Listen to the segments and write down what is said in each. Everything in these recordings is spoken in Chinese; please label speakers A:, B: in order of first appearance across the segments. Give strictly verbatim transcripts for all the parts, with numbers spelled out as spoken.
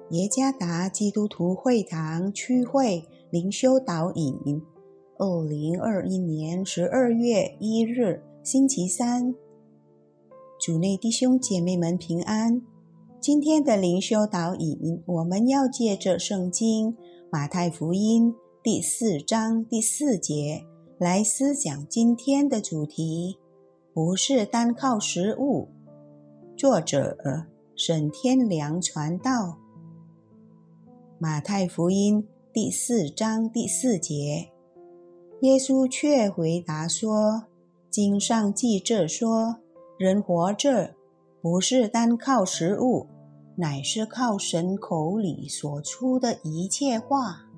A: 耶加达基督徒会堂区会灵修导引，二零二一年十二月一日星期三。主内弟兄姐妹们平安。今天的灵修导引，我们要借着圣经马太福音第四章第四节来思讲今天的主题，不是单靠食物。作者沈天良传道。马太福音第四章第四节，耶稣却回答说，经上记着说，人活着不是单靠食物，乃是靠神口里所出的一切话。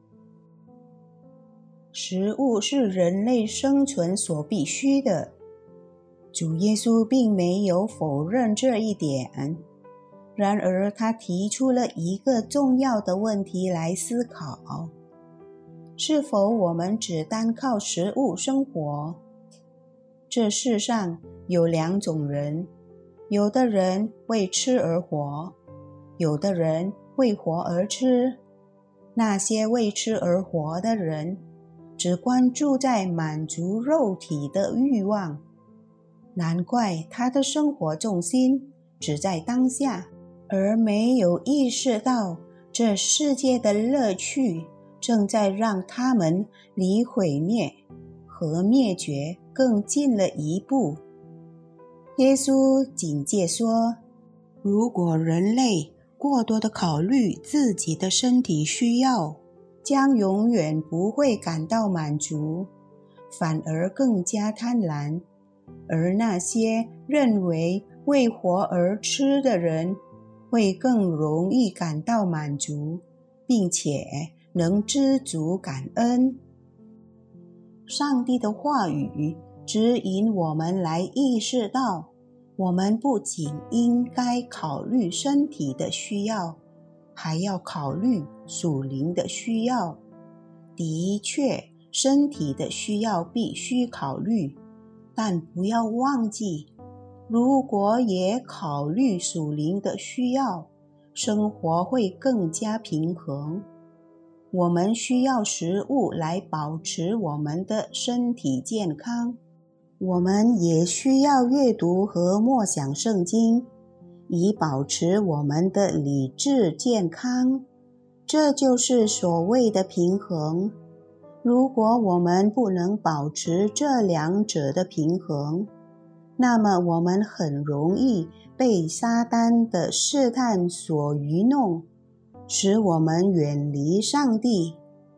A: 食物是人类生存所必须的，主耶稣并没有否认这一点。然而他提出了一个重要的问题来思考，是否我们只单靠食物生活？这世上有两种人，有的人为吃而活，有的人为活而吃。那些为吃而活的人，只关注在满足肉体的欲望，难怪他的生活重心只在当下，而没有意识到这世界的乐趣正在让他们离毁灭和灭绝更近了一步。耶稣警戒说，如果人类过多的考虑自己的身体需要，将永远不会感到满足，反而更加贪婪。而那些认为为活而吃的人，会更容易感到满足，并且能知足感恩。上帝的话语指引我们来意识到，我们不仅应该考虑身体的需要，还要考虑属灵的需要。的确，身体的需要必须考虑，但不要忘记，如果也考虑属灵的需要，生活会更加平衡。我们需要食物来保持我们的身体健康，我们也需要阅读和默想圣经，以保持我们的理智健康。这就是所谓的平衡。如果我们不能保持这两者的平衡，那么我们很容易被撒旦的试探所愚弄，使我们远离上帝。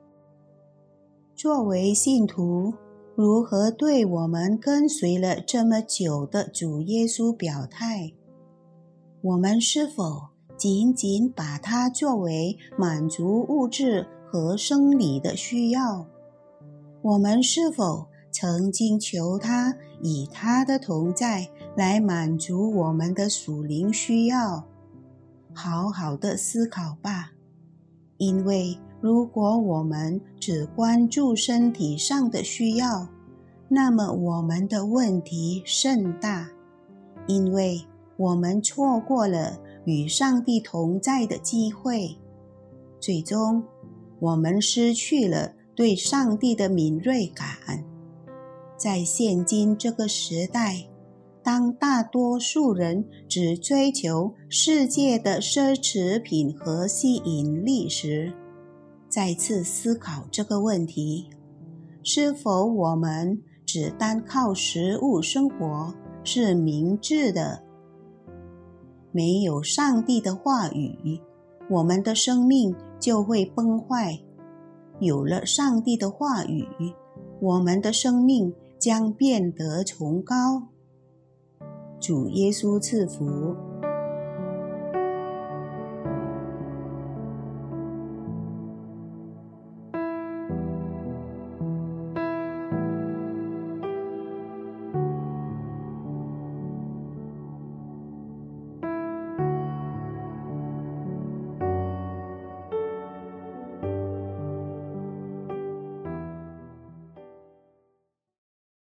A: 作为信徒，如何对我们跟随了这么久的主耶稣表态？我们是否仅仅把它作为满足物质和生理的需要？我们是否曾经求他以他的同在来满足我们的属灵需要？好好的思考吧，因为如果我们只关注身体上的需要，那么我们的问题甚大，因为我们错过了与上帝同在的机会，最终我们失去了对上帝的敏锐感。在现今这个时代，当大多数人只追求世界的奢侈品和吸引力时，再次思考这个问题，是否我们只单靠食物生活是明智的？没有上帝的话语，我们的生命就会崩坏。有了上帝的话语，我们的生命将变得崇高。主耶稣赐福。